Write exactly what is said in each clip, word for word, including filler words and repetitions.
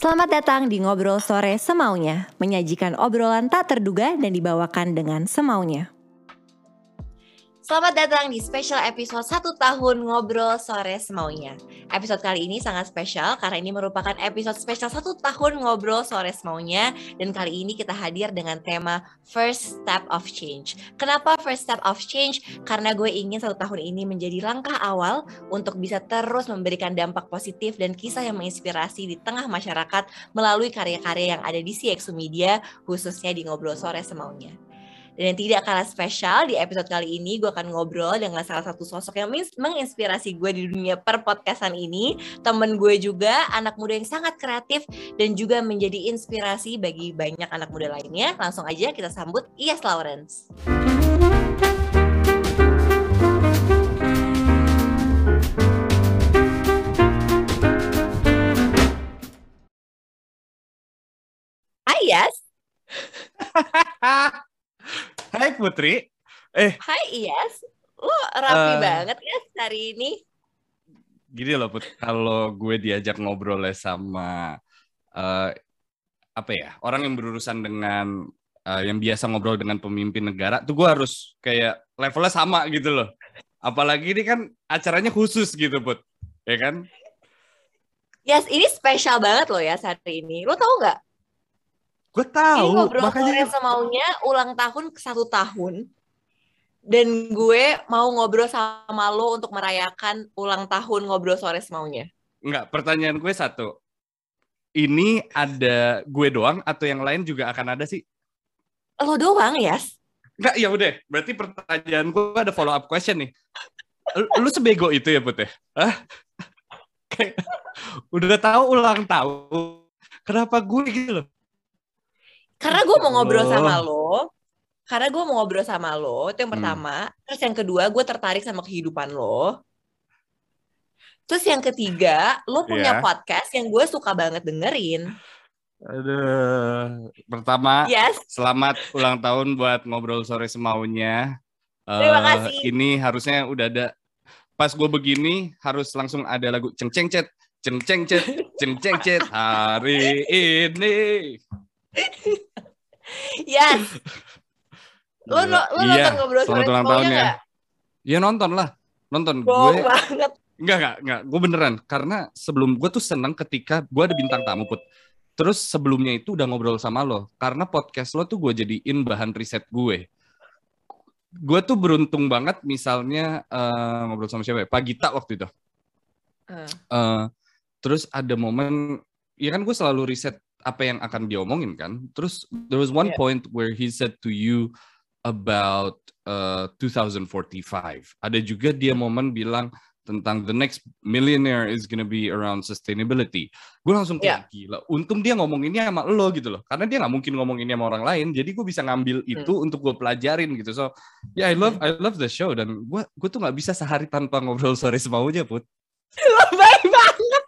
Selamat datang di Ngobrol Sore Semaunya, menyajikan obrolan tak terduga dan dibawakan dengan semaunya. Selamat datang di special episode satu tahun Ngobrol Sore Semaunya. Episode kali ini sangat spesial karena ini merupakan episode spesial satu tahun Ngobrol Sore Semaunya. Dan kali ini kita hadir dengan tema First Step of Change. Kenapa First Step of Change? Karena gue ingin satu tahun ini menjadi langkah awal untuk bisa terus memberikan dampak positif dan kisah yang menginspirasi di tengah masyarakat melalui karya-karya yang ada di C X U Media, khususnya di Ngobrol Sore Semaunya. Dan yang tidak kalah spesial, di episode kali ini gue akan ngobrol dengan salah satu sosok yang menginspirasi gue di dunia per-podcastan ini. Temen gue juga, anak muda yang sangat kreatif dan juga menjadi inspirasi bagi banyak anak muda lainnya. Langsung aja kita sambut Iyas Lawrence. Hai Iyas. Hai Putri. Eh. Hai Iyas. Lo rapi uh, banget ya hari ini. Gini loh Put, kalau gue diajak ngobrol sama uh, apa ya, orang yang berurusan dengan uh, yang biasa ngobrol dengan pemimpin negara, tuh gue harus kayak levelnya sama gitu loh. Apalagi ini kan acaranya khusus gitu Put, ya kan? Yes, ini spesial banget loh ya hari ini. Lo tau nggak? Gue tahu. Ini Ngobrol makanya Sore Semaunya ulang tahun ke satu tahun. Dan gue mau ngobrol sama lo untuk merayakan ulang tahun Ngobrol Sore Semaunya. Enggak, pertanyaan gue satu. Ini ada gue doang atau yang lain juga akan ada sih? Lo doang, Yas? Enggak, ya udah. Berarti pertanyaan gue ada follow up question nih. Lu sebego itu ya, Put ya? Hah? Kayak, udah tahu ulang tahun. Kenapa gue gitu loh? Karena gue mau ngobrol sama lo. Karena gue mau ngobrol sama lo. Itu yang pertama. Hmm. Terus yang kedua, gue tertarik sama kehidupan lo. Terus yang ketiga, lo punya yeah. podcast yang gue suka banget dengerin. Aduh. Pertama, yes. selamat ulang tahun buat Ngobrol Sore Semaunya. Terima uh, kasih. Ini harusnya udah ada. Pas gue begini, harus langsung ada lagu ceng-ceng-cet. Ceng-ceng-cet. Ceng-ceng-cet. Hari ini. Yes. Lo, lo, lo iya, nonton Ngobrol Sore Semaunya nggak? Iya nonton lah, nonton. Bohong gue banget. Enggak, enggak, enggak. Gue beneran. Karena sebelum gue tuh seneng ketika gue ada bintang tamu, Put. Terus sebelumnya itu udah ngobrol sama lo. Karena podcast lo tuh gue jadiin bahan riset gue. Gue tuh beruntung banget misalnya uh, ngobrol sama siapa ya? Pak Gita waktu itu. Uh. Uh, terus ada momen, ya kan gue selalu riset apa yang akan diomongin kan. Terus there was one yeah. point where he said to you about uh, twenty forty-five. Ada juga dia momen bilang tentang the next millionaire is gonna be around sustainability. Gue langsung kayak yeah. gila. Untung dia ngomonginnya sama lo gitu loh. Karena dia nggak mungkin ngomonginnya sama orang lain. Jadi gue bisa ngambil itu hmm. untuk gue pelajarin gitu. So yeah, I love I love the show. Dan gue gue tuh nggak bisa sehari tanpa Ngobrol Sore Semaunya, Put. Lebay banget.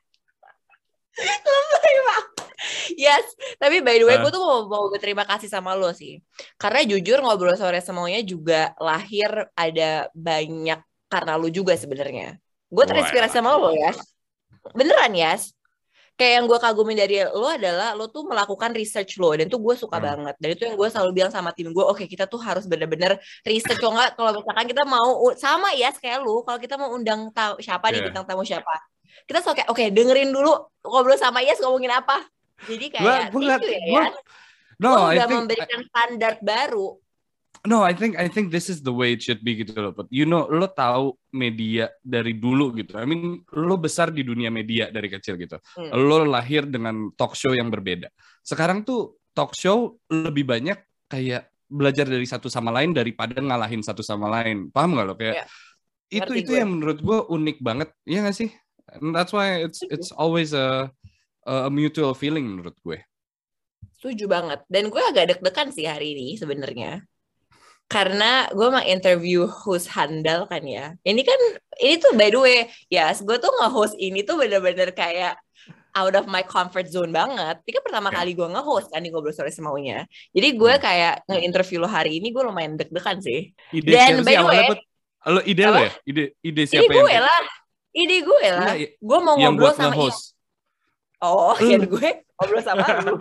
Lebay banget. Yes, tapi by the way, uh. gue tuh mau, mau berterima kasih sama lo sih. Karena jujur Ngobrol Sore Semaunya juga lahir ada banyak karena lo juga sebenarnya. Gue terinspirasi sama lo, Yas. Beneran, Yas. Kayak yang gue kagumin dari lo adalah lo tuh melakukan research lo. Dan tuh gue suka hmm. banget. Dan itu yang gue selalu bilang sama tim gue, oke okay, kita tuh harus bener-bener research. Kalau nggak, kalau misalkan kita mau, sama Yas kayak lo, kalau kita mau undang tahu siapa yeah. nih, bintang tamu siapa. Kita selalu kayak, oke okay, dengerin dulu ngobrol sama Yas ngomongin apa. Jadi kayak gua, gua, itu ya, gua, Yas. No, lo udah I think, memberikan standar baru. No, I think I think this is the way it should be gitu loh. But you know, lo tahu media dari dulu gitu. I mean, lo besar di dunia media dari kecil gitu. Hmm. Lo lahir dengan talk show yang berbeda. Sekarang tuh talk show lebih banyak kayak belajar dari satu sama lain daripada ngalahin satu sama lain. Paham nggak lo? Kayak yeah. itu Ngerti itu gue. Yang menurut gue unik banget, iya nggak sih? And that's why it's it's always a a mutual feeling menurut gue. Setuju banget. Dan gue agak deg-degan sih hari ini sebenarnya. Karena gue mau interview host handal kan ya. Ini kan, ini tuh by the way, ya yes, gue tuh nge-host ini tuh bener-bener kayak out of my comfort zone banget. Ini kan pertama yeah. kali gue nge-host kan di Ngobrol Sore Semaunya. Jadi gue hmm. kayak nge-interview lo hari ini, gue lumayan deg-degan sih. Ide Dan by the way, lo ide lo ya? Ide, ide siapa ide gue yang... lah. Ide gue lah. Gue mau ngobrol sama Iyas. Oh, kan gue ngobrol sama lu.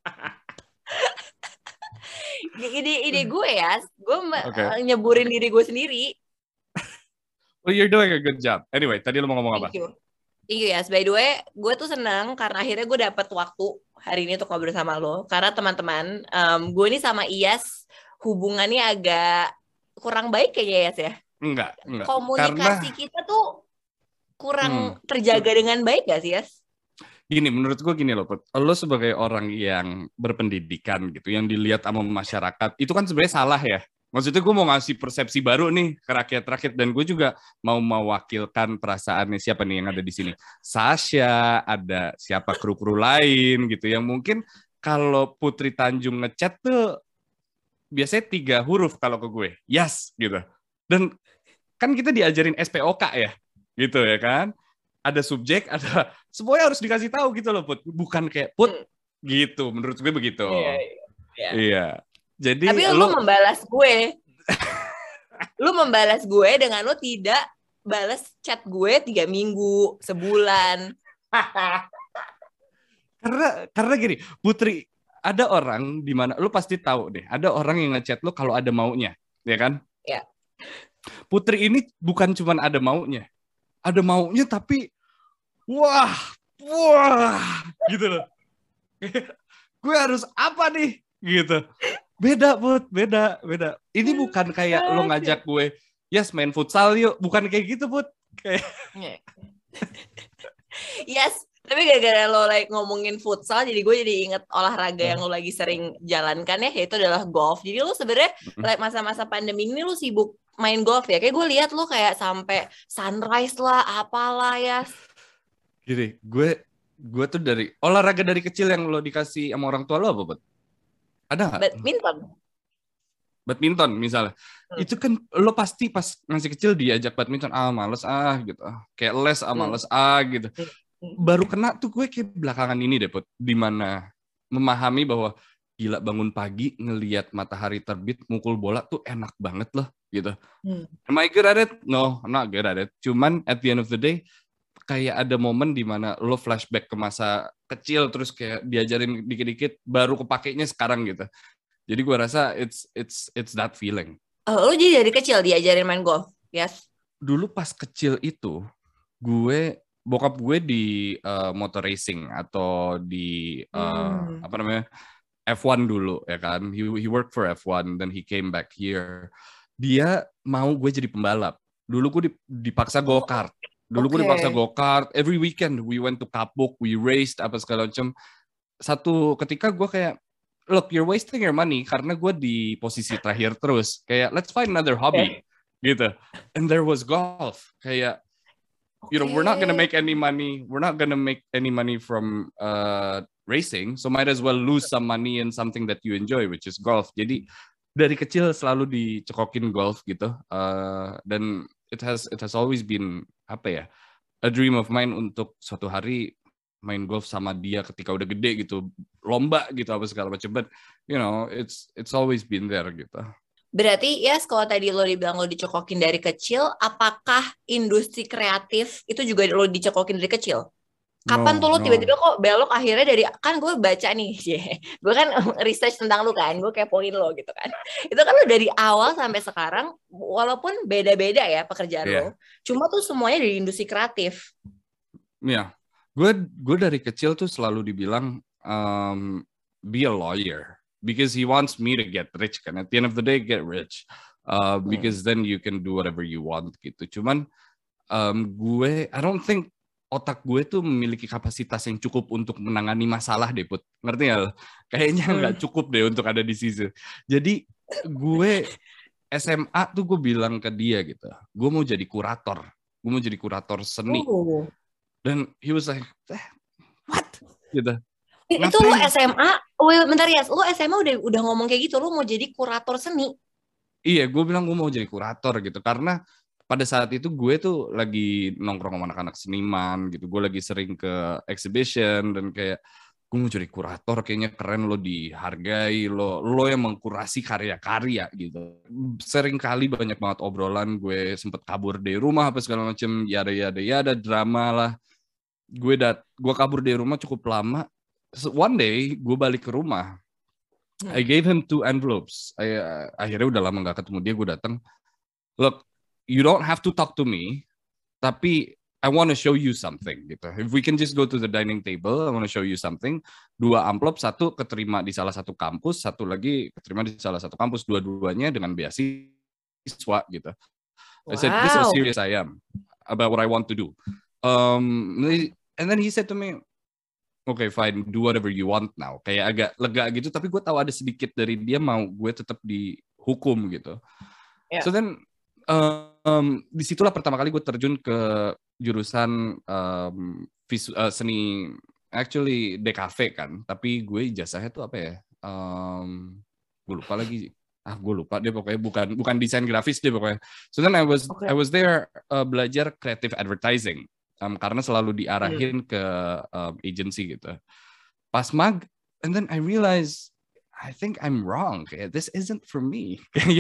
Ide ide gue ya, gue okay. nyeburin diri gue sendiri. Well, you're doing a good job. Anyway, tadi lu mau ngomong apa? Thank you. Iya, yes, by the way, gue tuh senang karena akhirnya gue dapet waktu hari ini untuk ngobrol sama lo. Karena teman-teman, um, gue ini sama Iyas hubungannya agak kurang baik kayaknya Iyas ya. Enggak, enggak. Komunikasi karena... kita tuh kurang hmm. terjaga dengan baik gak sih Iyas? Gini, menurut gue gini loh, Put. Lo sebagai orang yang berpendidikan gitu, yang dilihat sama masyarakat, itu kan sebenarnya salah ya. Maksudnya gue mau ngasih persepsi baru nih ke rakyat-rakyat, dan gue juga mau mewakilkan perasaannya siapa nih yang ada di sini. Sasha, ada siapa kru-kru lain gitu, yang mungkin kalau Putri Tanjung ngechat tuh biasanya tiga huruf kalau ke gue, yes gitu. Dan kan kita diajarin S P O K ya, gitu ya kan. Ada subjek, ada semuanya harus dikasih tahu gitu loh, Put. Bukan kayak Put gitu, menurut gue begitu. Iya. Iya. iya. Jadi tapi lu, lu membalas gue. Lu membalas gue dengan lu tidak balas chat gue tiga minggu, sebulan. karena karena gini, Putri, ada orang di mana lu pasti tahu deh, ada orang yang ngechat lu kalau ada maunya, ya kan? Ya. Putri ini bukan cuma ada maunya. Ada maunya tapi wah, wah gitu loh. Gue harus apa nih? Gitu. Beda, Put, beda, beda. Ini bukan kayak lo ngajak gue, yes main futsal yuk. Bukan kayak gitu, Put. Kayak... yes, tapi gara-gara lo like ngomongin futsal, jadi gue jadi inget olahraga yang lo lagi sering jalankan ya, yaitu adalah golf. Jadi lo sebenarnya like masa-masa pandemi ini lo sibuk main golf ya. Kayak gue lihat lo kayak sampai sunrise lah, apalah ya. Gini, gue gue tuh dari olahraga dari kecil yang lo dikasih sama orang tua lo apa, Put? Ada nggak? Badminton. Badminton misalnya. Hmm. Itu kan lo pasti pas masih kecil diajak badminton, ah males ah gitu. Kayak les ah males hmm. ah gitu. Baru kena tuh gue kayak belakangan ini deh, Put. Dimana memahami bahwa gila bangun pagi ngelihat matahari terbit mukul bola tuh enak banget loh gitu. Hmm. Am I good at it? No, I'm not good at it. Cuman at the end of the day kayak ada momen dimana lo flashback ke masa kecil terus kayak diajarin dikit-dikit baru kepakainya sekarang gitu. Jadi gue rasa it's it's it's that feeling. Oh, lo jadi dari kecil diajarin main golf? Yes. Dulu pas kecil itu gue bokap gue di uh, motor racing atau di uh, hmm. apa namanya F one dulu ya kan. He he worked for F one then he came back here. Dia mau gue jadi pembalap. Dulu gue dipaksa go-kart. Dulu okay. gue dipaksa go-kart, every weekend we went to Kapuk, we raced, apa segala macam. Satu ketika gue kayak, look, you're wasting your money, karena gue di posisi terakhir terus. Kayak, let's find another hobby, okay. gitu. And there was golf. Kayak, okay. you know, we're not gonna make any money, we're not gonna make any money from uh, racing, so might as well lose some money in something that you enjoy, which is golf. Jadi, dari kecil selalu dicekokin golf gitu. Uh, dan it has it has always been apa ya a dream of mine untuk suatu hari main golf sama dia ketika udah gede gitu, lomba gitu apa segala macam. But you know it's it's always been there gitu. Berarti ya yes, kalau tadi lo dibilang lo dicekokin dari kecil, apakah industri kreatif itu juga lo dicekokin dari kecil? Kapan no, tuh lo no. tiba-tiba kok belok akhirnya dari, kan gue baca nih, gue kan research tentang lo kan, gue kepoin lo gitu kan. Itu kan lo dari awal sampai sekarang, walaupun beda-beda ya pekerjaan yeah. lo, cuma tuh semuanya dari industri kreatif. Iya, yeah. gue gue dari kecil tuh selalu dibilang um, be a lawyer, because he wants me to get rich kan. At the end of the day get rich, uh, because hmm. then you can do whatever you want gitu. Cuman um, gue, I don't think otak gue tuh memiliki kapasitas yang cukup untuk menangani masalah deh, Put. Ngerti nggak? Kayaknya nggak cukup deh untuk ada di situ. Jadi gue S M A tuh gue bilang ke dia gitu, gue mau jadi kurator. Gue mau jadi kurator seni. Oh. Dan he was like, eh, what? Gitu. Itu lu S M A? Well, bentar ya, lu S M A udah udah ngomong kayak gitu, lu mau jadi kurator seni? Iya, gue bilang gue mau jadi kurator gitu, karena pada saat itu gue tuh lagi nongkrong sama anak-anak seniman gitu. Gue lagi sering ke exhibition dan kayak gue mau jadi kurator, kayaknya keren, lo dihargai, lo lo yang mengkurasi karya-karya gitu. Sering kali banyak banget obrolan, gue sempet kabur dari rumah apa segala macam, yada yada yada drama lah. gue dat, gue kabur dari rumah cukup lama. So, one day gue balik ke rumah. Hmm. I gave him two envelopes. I, uh, akhirnya udah lama nggak ketemu dia. Gue datang. Look, you don't have to talk to me, tapi I want to show you something gitu. If we can just go to the dining table, I want to show you something. Dua amplop, satu keterima di salah satu kampus, satu lagi keterima di salah satu kampus. Dua-duanya dengan beasiswa gitu. Wow. I said, this is how serious I am about what I want to do. Um, and then he said to me, okay, fine, do whatever you want now. Kayak agak lega gitu, tapi gue tahu ada sedikit dari dia mau gue tetap dihukum gitu. Yeah. So then, um, disitulah pertama kali gue terjun ke jurusan um, visu, uh, seni, actually D K V kan, tapi gue ijazahnya tuh apa ya? Um, gue lupa lagi. Ah, gue lupa dia pokoknya bukan bukan desain grafis dia pokoknya. So then I was okay. I was there uh, belajar creative advertising um, karena selalu diarahin hmm. ke um, agency gitu. Pas mag, and then I realized I think I'm wrong. Kayak this isn't for me.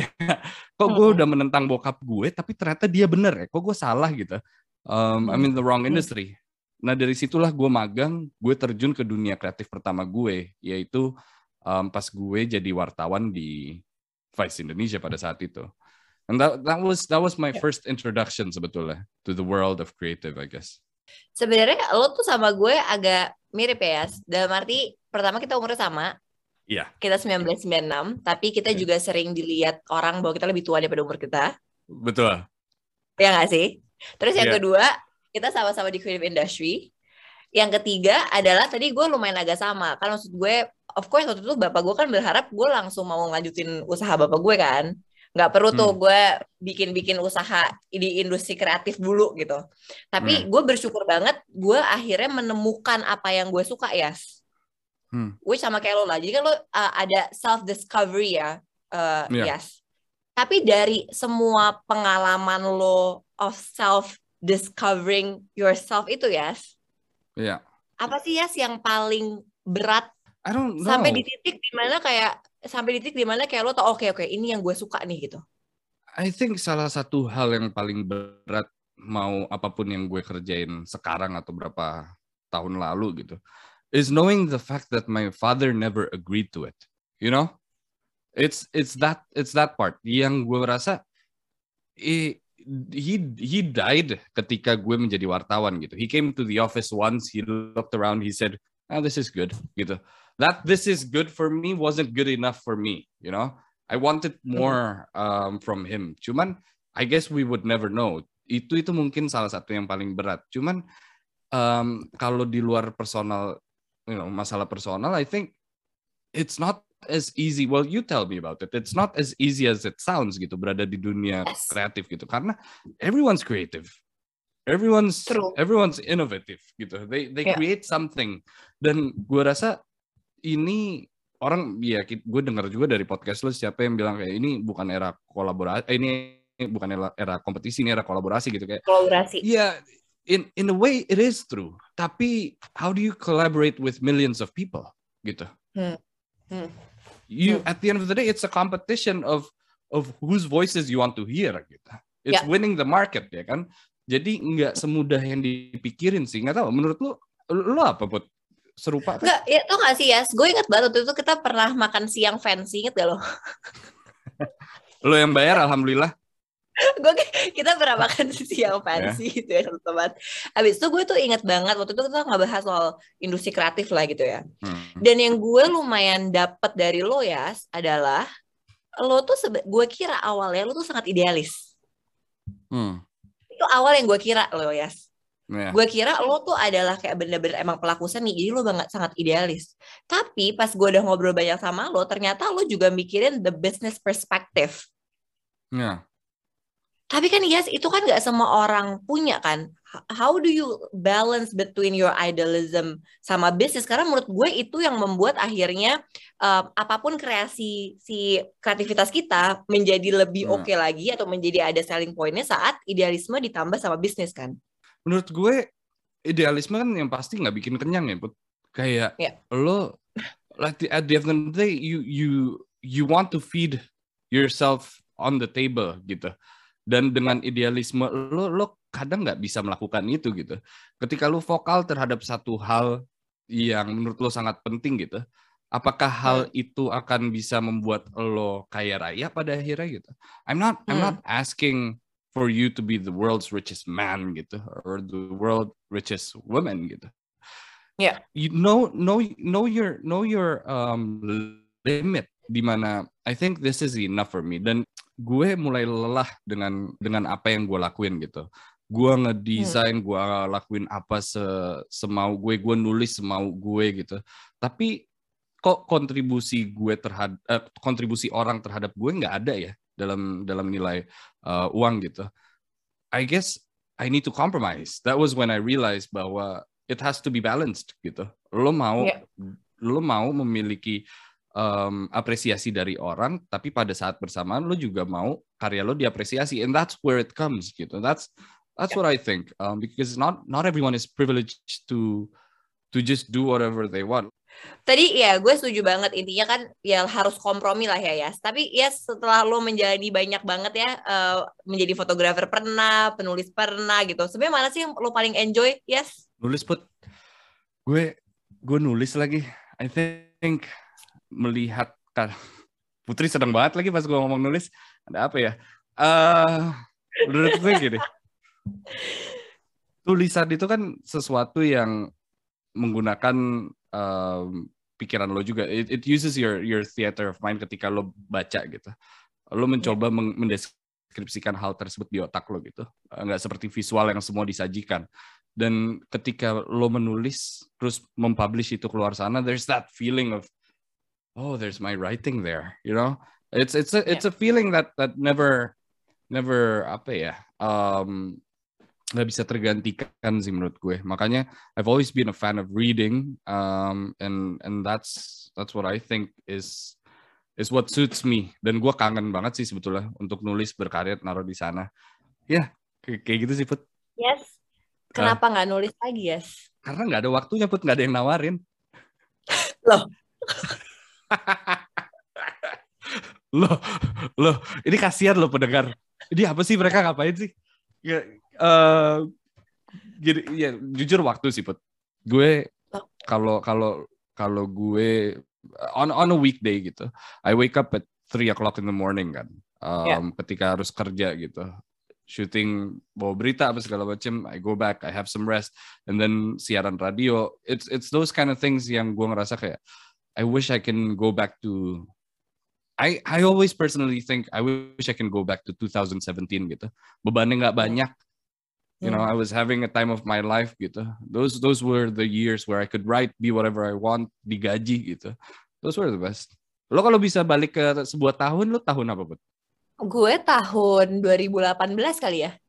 Kok gue udah menentang bokap gue, tapi ternyata dia bener ya. Kok gue salah gitu. Um, I'm in the wrong industry. Nah dari situlah gue magang, gue terjun ke dunia kreatif pertama gue, yaitu um, pas gue jadi wartawan di Vice Indonesia pada saat itu. And that that was that was my first introduction sebetulnya to the world of creative, I guess. Sebenarnya lo tuh sama gue agak mirip ya, dalam arti pertama kita umurnya sama. Iya. Yeah. Kita sembilan belas sembilan puluh enam, tapi kita yeah. juga sering dilihat orang bahwa kita lebih tua daripada umur kita. Betul. Ya nggak sih? Terus yang yeah. kedua, kita sama-sama di creative industry. Yang ketiga adalah tadi gue lumayan agak sama. Kan maksud gue, of course waktu itu bapak gue kan berharap gue langsung mau ngelanjutin usaha bapak gue kan. Nggak perlu tuh hmm. gue bikin-bikin usaha di industri kreatif dulu gitu. Tapi hmm. gue bersyukur banget gue akhirnya menemukan apa yang gue suka ya. Hmm. Which sama kayak lo lah. Jadi kan lo uh, ada self-discovery ya. Uh, yeah. Yes. Tapi dari semua pengalaman lo of self-discovering yourself itu yes. Iya. Yeah. Apa sih Yas yang paling berat? I don't know. Sampai di titik dimana kayak sampai di titik dimana kayak lo tau oke okay, oke okay, ini yang gue suka nih gitu. I think salah satu hal yang paling berat mau apapun yang gue kerjain sekarang atau berapa tahun lalu gitu is knowing the fact that my father never agreed to it. You know? It's it's that it's that part yang gue rasa eh, he he died ketika gue menjadi wartawan gitu. He came to the office once, he looked around, he said, "Ah, this is good." gitu. That this is good for me wasn't good enough for me, you know. I wanted more um, from him. Cuman I guess we would never know. Itu itu mungkin salah satu yang paling berat. Cuman um, kalau di luar personal, you know, masalah personal, I think it's not as easy. Well, you tell me about it. It's not as easy as it sounds gitu berada di dunia yes. kreatif gitu karena everyone's creative. Everyone's True. everyone's innovative gitu. They they yeah. create something. Dan gue rasa ini orang ya gue dengar juga dari podcast lo siapa yang bilang kayak ini bukan era kolaborasi, eh, ini bukan era, era kompetisi, ini era kolaborasi gitu kayak. Kolaborasi. Iya, yeah, in in a way it is true. Tapi how do you collaborate with millions of people gitu? Hmm. Hmm. You hmm. at the end of the day it's a competition of of whose voices you want to hear gitu. It's yeah. winning the market ya kan. Jadi nggak semudah yang dipikirin sih. Nggak tahu menurut lu lu apa Put? Serupa kan? Nggak, ya tuh nggak sih Yas? Gue inget banget waktu itu kita pernah makan siang fancy, inget gak lo? Lo yang bayar alhamdulillah. Gue kita pernah makan siang fancy yeah. gitu ya satu tempat. Abis itu gue tuh inget banget waktu itu kita ngebahas soal industri kreatif lah gitu ya. Hmm. Dan yang gue lumayan dapet dari lo Yas adalah lo tuh sebe- gue kira awalnya lo tuh sangat idealis. Hmm. Itu awal yang gue kira lo Yas. Yeah. Gue kira lo tuh adalah kayak bener-bener emang pelaku seni, jadi lo banget sangat idealis. Tapi pas gue udah ngobrol banyak sama lo, ternyata lo juga mikirin the business perspective. Yeah. Tapi kan yes, itu kan gak semua orang punya kan. How do you balance between your idealism sama bisnis? Karena menurut gue itu yang membuat akhirnya uh, apapun kreasi si kreativitas kita menjadi lebih yeah. oke okay lagi atau menjadi ada selling point-nya saat idealisme ditambah sama bisnis kan. Menurut gue idealisme kan yang pasti nggak bikin kenyang ya, Put. Kayak yeah. lo, like the, at the end of the day, you you you want to feed yourself on the table gitu. Dan dengan idealisme lo, lo kadang nggak bisa melakukan itu gitu. Ketika lu vokal terhadap satu hal yang menurut lo sangat penting gitu, apakah hal Hmm. itu akan bisa membuat lo kaya raya pada akhirnya gitu? I'm not I'm Hmm. not asking for you to be the world's richest man gitu, or the world richest woman gitu. Ya. You know know know your know your um, limit di mana I think this is enough for me, dan gue mulai lelah dengan dengan apa yang gue lakuin gitu. Gue ngedesain, gue lakuin apa se semau gue, gue nulis semau gue gitu. Tapi kok kontribusi gue terhadap eh, kontribusi orang terhadap gue nggak ada ya dalam dalam nilai uh, uang gitu. I guess I need to compromise. That was when I realized bahwa it has to be balanced gitu. Lo mau Yeah. lo mau memiliki um, apresiasi dari orang, tapi pada saat bersamaan lo juga mau karya lo diapresiasi, and that's where it comes gitu. That's that's Yeah. what I think, um, because not not everyone is privileged to to just do whatever they want. Tadi ya gue setuju banget, intinya kan ya harus kompromi lah ya Yas. Tapi ya setelah lo menjalani banyak banget ya, uh, menjadi fotografer pernah, penulis pernah gitu. Sebenarnya mana sih yang lo paling enjoy Yas? Nulis put, gue gue nulis lagi. I think melihat kan Putri sedang banget lagi pas gue ngomong nulis. Ada apa ya? Uh, menurut gue gini, tulisan itu kan sesuatu yang menggunakan um, pikiran lo juga. It, it uses your your theater of mind ketika lo baca gitu. Lo mencoba yeah. mendeskripsikan hal tersebut di otak lo gitu. Nggak seperti visual yang semua disajikan. Dan ketika lo menulis terus mempublish itu keluar sana, there's that feeling of, oh, there's my writing there, you know. It's it's a it's yeah. a feeling that that never never apa ya. Um, nggak bisa tergantikan sih menurut gue. Makanya I've always been a fan of reading, um, and and that's that's what I think is is what suits me. Dan gue kangen banget sih sebetulnya untuk nulis, berkarya, naruh di sana. Ya, yeah, kayak gitu sih Put. Yes. Kenapa nggak uh, nulis lagi Yes? Karena nggak ada waktunya Put, nggak ada yang nawarin. Loh. loh, loh, ini kasihan loh pendengar. Ini apa sih, mereka ngapain sih? Ya, uh, jadi ya jujur waktu sih Put. Gue kalau kalau kalau gue on on a weekday gitu, I wake up at three o'clock in the morning kan. Um, yeah. Ketika harus kerja gitu, shooting bawa berita apa segala macam, I go back, I have some rest, and then siaran radio. It's it's those kind of things yang gue ngerasa kayak I wish I can go back to. I I always personally think I wish I can go back to two thousand seventeen gitu. Bebannya nggak banyak. You know, I was having a time of my life gitu. Those those were the years where I could write, be whatever I want, digaji gitu. Those were the best. Lo kalau bisa balik ke sebuah tahun, lo tahun apa, Bud? Gue tahun dua ribu delapan belas kali ya.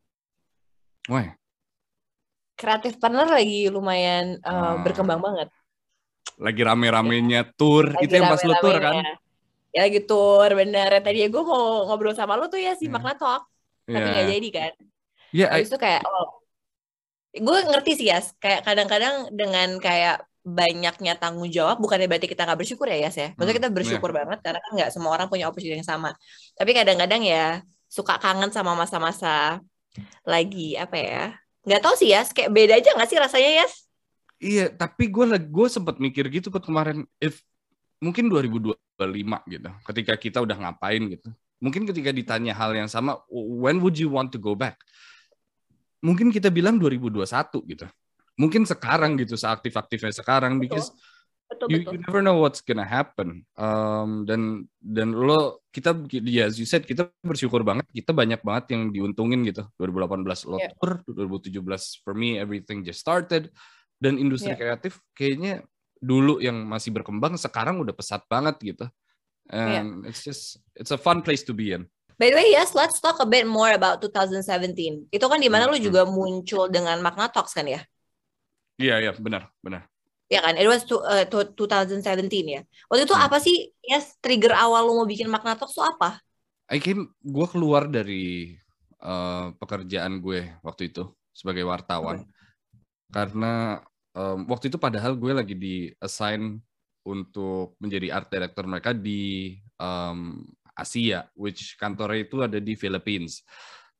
Wah. Creative Partner lagi lumayan uh, ah. berkembang banget. Lagi rame-ramenya tour. Lagi itu yang pas lo tour kan? Ya lagi tour, bener. Tadi gue mau ngobrol sama lo tuh ya si yeah. Magna Talk. Tapi yeah. gak jadi kan. Iya, yeah, itu kayak oh, gue ngerti sih ya, kayak kadang-kadang dengan kayak banyaknya tanggung jawab, bukannya berarti kita nggak bersyukur ya Yas ya. Maksudnya kita bersyukur yeah. banget karena kan nggak semua orang punya opportunity yang sama. Tapi kadang-kadang ya suka kangen sama masa-masa lagi apa ya? Nggak tahu sih Yas, kayak beda aja nggak sih rasanya Yas? Iya, tapi gue gue sempat mikir gitu Put kemarin, if mungkin dua ribu dua puluh lima gitu, ketika kita udah ngapain gitu. Mungkin ketika ditanya hal yang sama, when would you want to go back? Mungkin kita bilang dua ribu dua puluh satu gitu. Mungkin sekarang gitu, seaktif-aktifnya sekarang, because betul, you, betul. you never know what's gonna happen. Um, dan dan lo kita ya, as you said, kita bersyukur banget, kita banyak banget yang diuntungin gitu. dua ribu delapan belas lo yeah. tour, dua ribu tujuh belas for me everything just started. Dan industri yeah. kreatif kayaknya dulu yang masih berkembang, sekarang udah pesat banget gitu. And yeah. it's just it's a fun place to be in. By the way, yes, let's talk a bit more about twenty seventeen. Itu kan di mana mm-hmm. lu juga muncul dengan Magna Talks kan ya? Iya, yeah, iya, yeah, benar, benar. Ya kan, it was to, uh, to twenty seventeen ya. Waktu itu hmm. apa sih, yes, trigger awal lu mau bikin Magna Talks itu apa? I came, gue keluar dari uh, pekerjaan gue waktu itu sebagai wartawan. Okay. Karena um, waktu itu padahal gue lagi di-assign untuk menjadi art director mereka di um, Asia, which kantornya itu ada di Philippines.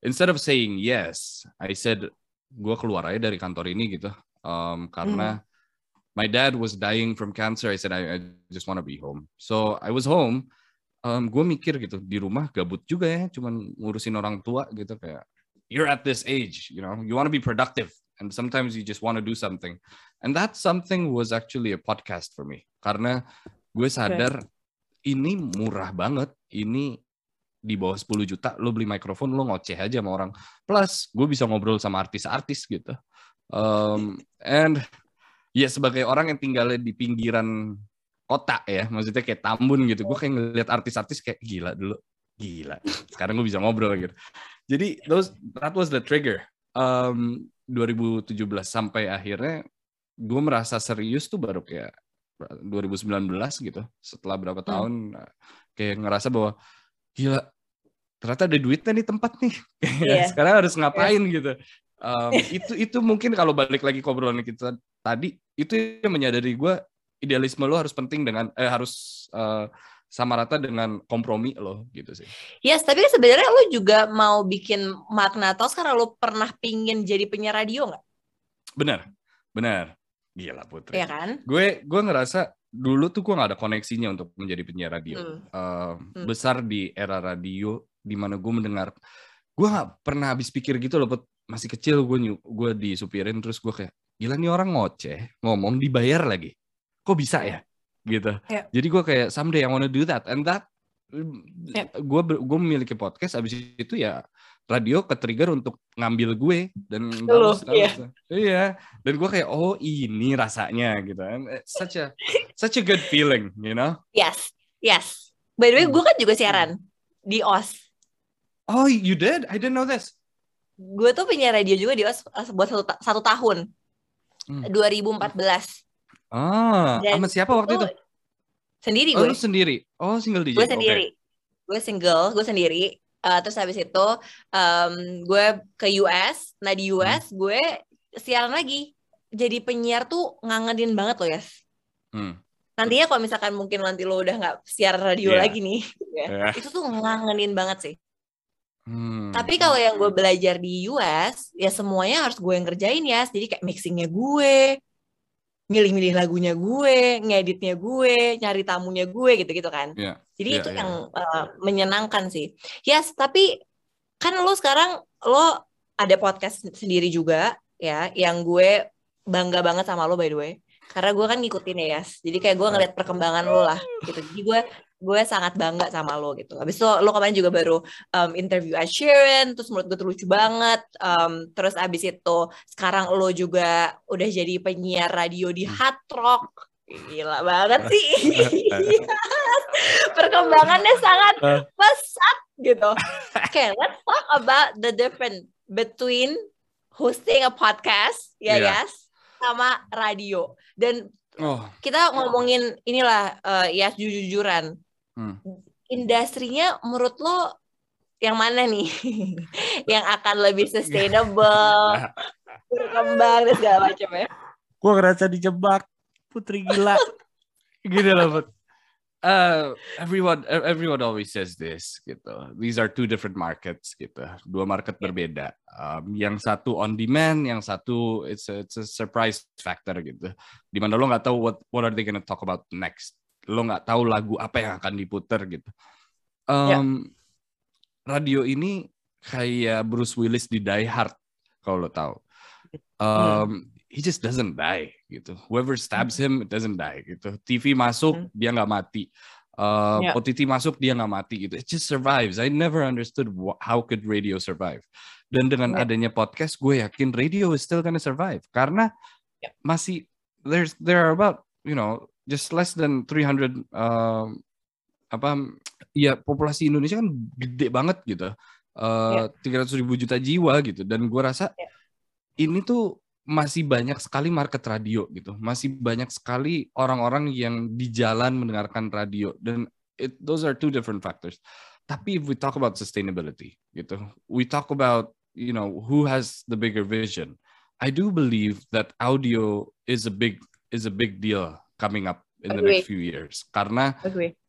instead of saying yes, I said gue keluar aja dari kantor ini gitu. Um, karena mm. my dad was dying from cancer. I said I, I just want to be home. So I was home. Um, gue mikir gitu, di rumah gabut juga ya, cuman ngurusin orang tua gitu, kayak you're at this age, you know, you want to be productive. And sometimes you just want to do something. And that something was actually a podcast for me. Karena gue sadar okay. ini murah banget. Ini di bawah sepuluh juta, lo beli mikrofon, lo ngoceh aja sama orang. Plus, gue bisa ngobrol sama artis-artis gitu. Um, and ya sebagai orang yang tinggalnya di pinggiran kota ya, maksudnya kayak Tambun gitu. Gue kayak ngeliat artis-artis kayak gila dulu. Gila. Sekarang gue bisa ngobrol gitu. Jadi, those, that was the trigger. Um, dua ribu tujuh belas sampai akhirnya gue merasa serius tuh baru kayak dua ribu sembilan belas gitu. Setelah berapa tahun hmm. kayak ngerasa bahwa gila, ternyata ada duitnya nih tempat nih. Yeah. Sekarang harus ngapain yeah. gitu. Um, itu itu mungkin kalau balik lagi ke obrolan kita tadi, itu yang menyadari gue idealisme lo harus penting dengan eh harus uh, sama rata dengan kompromi lo gitu sih. Yes, tapi sebenarnya lo juga mau bikin Magna Talks karena lo pernah pingin jadi penyiar radio nggak? Benar, benar. Gila Putri. Iya kan? Gue gue ngerasa dulu tuh gue nggak ada koneksinya untuk menjadi penyiar radio. Hmm. Uh, hmm. Besar di era radio di mana gue mendengar, gue nggak pernah habis pikir gitu loh. Masih kecil gue gue disupirin terus gue kayak gila nih orang ngoceh ngomong dibayar lagi. Kok bisa ya? Gitu. Yeah. Jadi gue kayak someday I wanna do that, and that yeah. gue gue memiliki podcast. Abis itu ya radio ke-trigger untuk ngambil gue dan Hello, bagus, yeah. bagus. Iya. Dan gue kayak oh ini rasanya gitu. And such a such a good feeling, you know? Yes, yes. By the way, gue kan juga siaran di O S. Oh, you did? I didn't know this. Gue tuh penyiar radio juga di O S buat satu, satu tahun, hmm. dua ribu empat belas. Ah, sama siapa waktu itu? Sendiri gue. Oh, lu sendiri? Oh, single D J? Gue sendiri. Okay. Gue single, gue sendiri. Uh, terus habis itu um, gue ke U S. Nah di U S hmm. gue siaran lagi. Jadi penyiar tuh ngangenin banget loh, Yas. Hmm. Nantinya kalau misalkan mungkin nanti lo udah gak siar radio yeah. lagi nih. Ya, yeah. Itu tuh ngangenin banget sih. Hmm. Tapi kalau yang gue belajar di U S, ya semuanya harus gue yang kerjain ya. Jadi kayak mixingnya gue, milih-milih lagunya gue, ngeditnya gue, nyari tamunya gue gitu-gitu kan. Yeah. Jadi yeah, itu yeah. yang uh, menyenangkan sih. Yes, tapi kan lo sekarang lo ada podcast sendiri juga ya, yang gue bangga banget sama lo by the way. Karena gue kan ngikutin ya, Yas. Jadi kayak gue ngeliat perkembangan lo lah gitu. Jadi gue gue sangat bangga sama lo gitu. Habis itu lo kemarin juga baru um, interview Ed Sheeran, terus menurut gue tuh lucu banget. Um, terus abis itu sekarang lo juga udah jadi penyiar radio di Hard Rock. Gila banget sih. Perkembangannya sangat pesat gitu. Okay, let's talk about the difference between hosting a podcast, ya yeah, Yas, sama radio. Dan oh. kita ngomongin inilah uh, ya jujur-jujuran. Hmm. Industrinya menurut lo yang mana nih yang akan lebih sustainable, berkembang dan segala macam ya? Gue ngerasa dijebak, Putri gila. Gini lah, Put. Uh, everyone, everyone always says this gitu. These are two different markets gitu. Dua market yeah. berbeda. Um, yang satu on demand, yang satu it's a, it's a surprise factor gitu. Dimana lo nggak tahu what what are they gonna talk about next. Lo nggak tahu lagu apa yang akan diputer gitu. Um, yeah. Radio ini kayak Bruce Willis di Die Hard kalau lo tahu. Um, mm. He just doesn't die gitu. Whoever stabs him it doesn't die gitu. T V masuk mm. dia nggak mati. Uh, yeah. O T T masuk dia nggak mati gitu. It just survives. I never understood what, how could radio survive. Dan dengan yeah. adanya podcast, gue yakin radio is still gonna survive karena yeah. masih there's there are about you know just less than three hundred um, apa ya populasi Indonesia kan gede banget gitu. Uh, yeah. tiga ratus ribu juta jiwa gitu. Dan gue rasa yeah. ini tuh masih banyak sekali market radio gitu. Masih banyak sekali orang-orang yang di jalan mendengarkan radio. Dan it, those are two different factors. Tapi if we talk about sustainability gitu, we talk about you know who has the bigger vision. I do believe that audio is a big is a big deal coming up in the Agree. next few years. Karena Agree.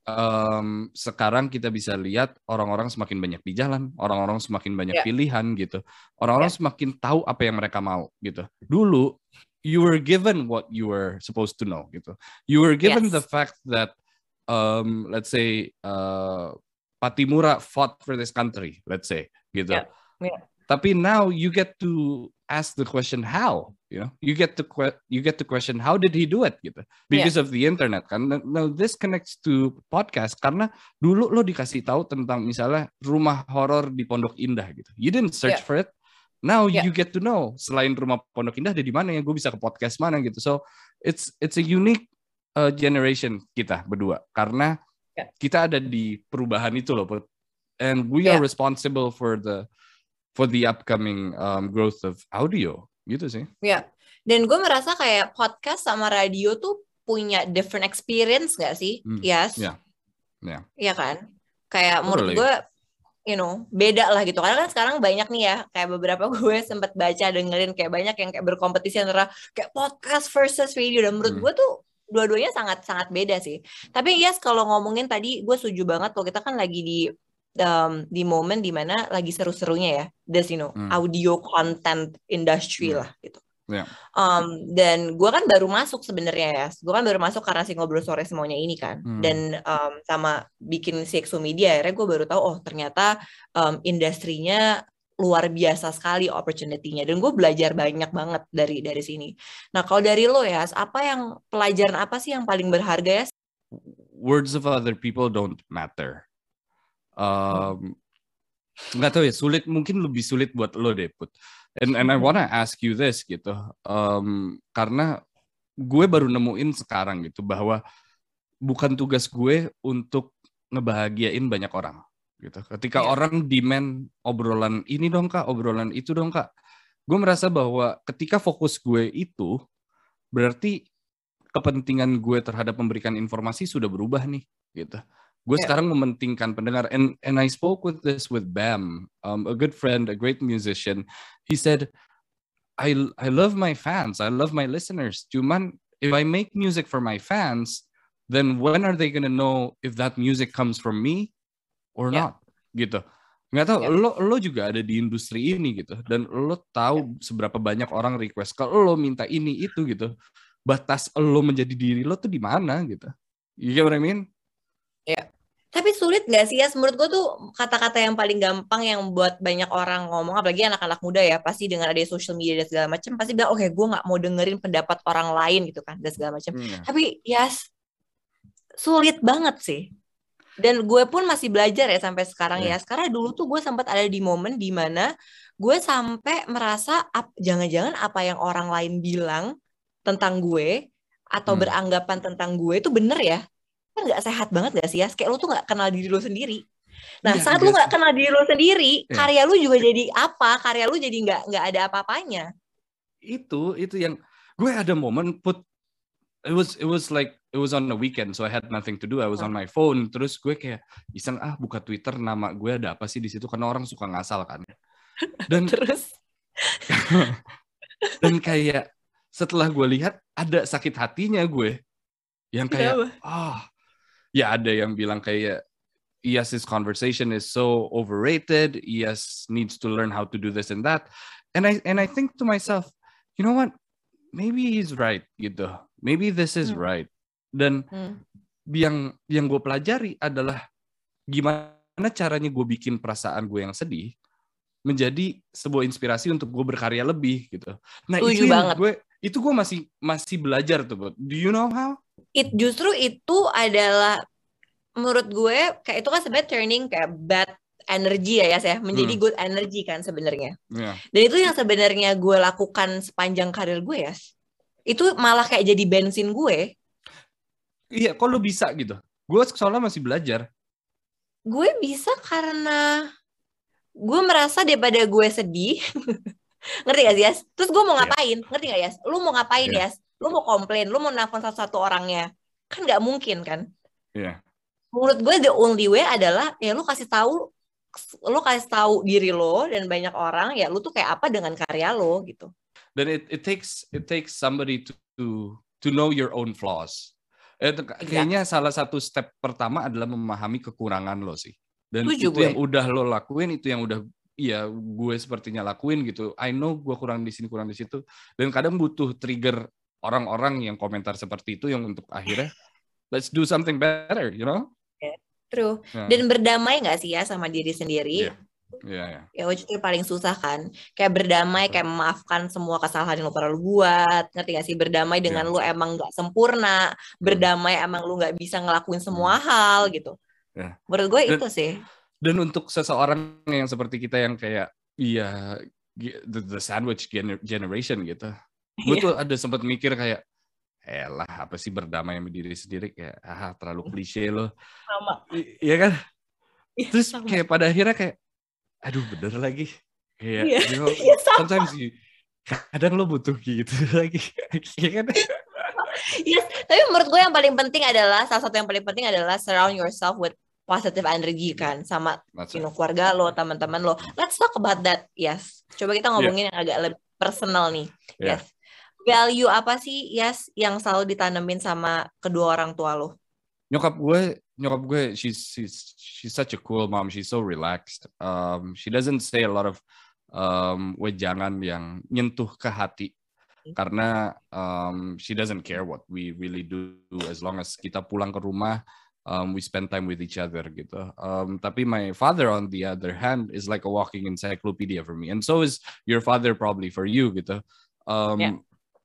um, sekarang kita bisa lihat orang-orang semakin banyak di jalan, orang-orang semakin banyak Yeah. pilihan gitu. Orang-orang Yeah. semakin tahu apa yang mereka mau gitu. Dulu you were given what you were supposed to know gitu. You were given Yes. the fact that um, let's say uh, Patimura fought for this country, let's say gitu. Yeah. Yeah. Tapi now you get to ask the question how, you know, you get to que- you get to question how did he do it gitu, because yeah. of the internet kan. Now this connects to podcast karena dulu lo dikasih tahu tentang misalnya rumah horor di Pondok Indah gitu, you didn't search yeah. for it. Now yeah. you get to know selain rumah Pondok Indah ada di mana ya, gue bisa ke podcast mana gitu. So it's it's a unique uh, generation kita berdua karena yeah. kita ada di perubahan itu loh, and we yeah. are responsible for the for the upcoming um, growth of audio, gitu sih. Ya, dan gue merasa kayak podcast sama radio tuh punya different experience gak sih? Mm. Yes. Ya, yeah. Iya yeah. kan? Kayak totally. Menurut gue, you know, beda lah gitu. Karena kan sekarang banyak nih ya, kayak beberapa gue sempat baca, dengerin kayak banyak yang kayak berkompetisi antara kayak podcast versus radio. Dan menurut mm. gue tuh dua-duanya sangat-sangat beda sih. Tapi yes, kalau ngomongin tadi, gue setuju banget kalau kita kan lagi di Um, di momen dimana lagi seru-serunya ya, this you know hmm. audio content industry hmm. lah gitu. Yeah. Um, dan gue kan baru masuk sebenarnya ya, gue kan baru masuk karena si Ngobrol Sore Semuanya ini kan, hmm. dan um, sama bikin si Exo Media, akhirnya gue baru tahu oh ternyata um, industrinya luar biasa sekali opportunity-nya, dan gue belajar banyak banget dari dari sini. Nah kalau dari lo ya, apa yang pelajaran apa sih yang paling berharga ya? Words of other people don't matter. Um, nggak tahu ya, sulit, mungkin lebih sulit buat lo deh Put. And and I wanna ask you this gitu, um, karena gue baru nemuin sekarang gitu bahwa bukan tugas gue untuk ngebahagiain banyak orang gitu. Ketika yeah. orang demand obrolan ini dong kak, obrolan itu dong kak, gue merasa bahwa ketika fokus gue itu berarti kepentingan gue terhadap memberikan informasi sudah berubah nih gitu. Gue yeah. sekarang mementingkan pendengar, and and I spoke with this with Bam, um, a good friend, a great musician. He said, I I love my fans, I love my listeners. Cuman if I make music for my fans, then when are they gonna know if that music comes from me or yeah. not? Gitu. Nggak tahu. Yeah. Lo lo juga ada di industri ini gitu, dan lo tahu yeah. seberapa banyak orang request kalau lo minta ini itu gitu. Batas lo menjadi diri lo tuh di mana gitu? You get what I mean? Ya, tapi sulit nggak sih ya? Menurut gue tuh kata-kata yang paling gampang yang buat banyak orang ngomong, apalagi anak-anak muda ya, pasti dengan ada social media dan segala macam, pasti bilang, oke, okay, gue nggak mau dengerin pendapat orang lain gitu kan, dan segala macam. Hmm. Tapi yes, sulit banget sih. Dan gue pun masih belajar ya sampai sekarang yeah. ya. Karena dulu tuh gue sempat ada di momen dimana gue sampai merasa, ap, jangan-jangan apa yang orang lain bilang tentang gue atau hmm. beranggapan tentang gue itu bener ya. Kan gak sehat banget gak sih ya? Kayak lu tuh gak kenal diri lu sendiri. Nah ya, saat lu gak kenal diri lu sendiri, ya. Karya lu juga jadi apa? Karya lu jadi gak, gak ada apa-apanya. Itu itu yang gue ada momen put it was it was like it was on the weekend, so I had nothing to do. I was hmm. on my phone. Terus gue kayak iseng ah buka Twitter, nama gue ada apa sih di situ, karena orang suka ngasal kan. Dan terus dan kayak setelah gue lihat ada sakit hatinya gue yang kayak ah oh, ya ada yang bilang kayak yes, this conversation is so overrated. Yes, needs to learn how to do this and that. And I and I think to myself, you know what? Maybe he's right gitu. Maybe this is hmm. right. Dan hmm. yang yang gue pelajari adalah gimana caranya gue bikin perasaan gue yang sedih menjadi sebuah inspirasi untuk gue berkarya lebih gitu. Nah, Tujuh itu banget. gue itu gue masih masih belajar tuh. Do you know how? It justru itu adalah menurut gue kayak itu kan sebenarnya turning kayak bad energy ya ya saya menjadi hmm. good energy kan sebenarnya. Yeah. Dan itu yang sebenarnya gue lakukan sepanjang karir gue ya. Itu malah kayak jadi bensin gue. Iya, kok lu bisa gitu? Gue soalnya masih belajar. Gue bisa karena gue merasa daripada gue sedih. Ngerti gak sih, Yas? Terus gue mau ngapain? Yeah. Ngerti gak, Yas? Lu mau ngapain, yeah. Yas? Lu mau komplain, lu mau nelfon satu-satu orangnya. Kan gak mungkin, kan? Iya. Yeah. Menurut gue the only way adalah ya lu kasih tahu lu kasih tahu diri lo dan banyak orang ya lu tuh kayak apa dengan karya lo gitu. Dan it it takes it takes somebody to to to know your own flaws. Eh, kayaknya salah satu step pertama adalah memahami kekurangan lo sih. Dan Tujuh itu gue. yang udah lo lakuin, itu yang udah iya gue sepertinya lakuin gitu. I know gue kurang di sini, kurang di situ. Dan kadang butuh trigger orang-orang yang komentar seperti itu yang untuk akhirnya let's do something better, you know? True. Yeah. Dan berdamai nggak sih ya sama diri sendiri? Iya, iya, iya. Ya, which itu paling susah kan. Kayak berdamai, kayak memaafkan semua kesalahan yang lo pernah lo buat. Ngerti gak sih? Berdamai dengan Yeah. lo emang nggak sempurna. Berdamai emang lo nggak bisa ngelakuin semua hal gitu. Yeah. Menurut gue Dan, itu sih. Dan untuk seseorang yang seperti kita yang kayak, iya, the, the sandwich gener- generation gitu. Gue tuh ada sempat mikir kayak, elah apa sih berdamai sama diri sendiri, kayak ah terlalu klise lo. Sama. I- iya kan? Iya, Terus sama. kayak pada akhirnya kayak, aduh bener lagi. Kayak, Iya. you know, Iya, sama. sometimes you, kadang lo butuh gitu lagi. Iya kan? Yes, tapi menurut gue yang paling penting adalah, salah satu yang paling penting adalah surround yourself with positive energy kan, sama you know, keluarga lo, teman-teman lo. Let's talk about that. Yes. Coba kita ngomongin yeah. yang agak lebih personal nih. Yeah. Yes. Value apa sih, Yes, yang selalu ditanemin sama kedua orang tua lo? Nyokap gue, nyokap gue, she's she's she's such a cool mom. She's so relaxed. Um, she doesn't say a lot of um, wejangan yang nyentuh ke hati. Karena um, she doesn't care what we really do as long as kita pulang ke rumah, um, we spend time with each other gitu. Um, tapi my father on the other hand is like a walking encyclopedia for me, and so is your father probably for you gitu. Um, yeah.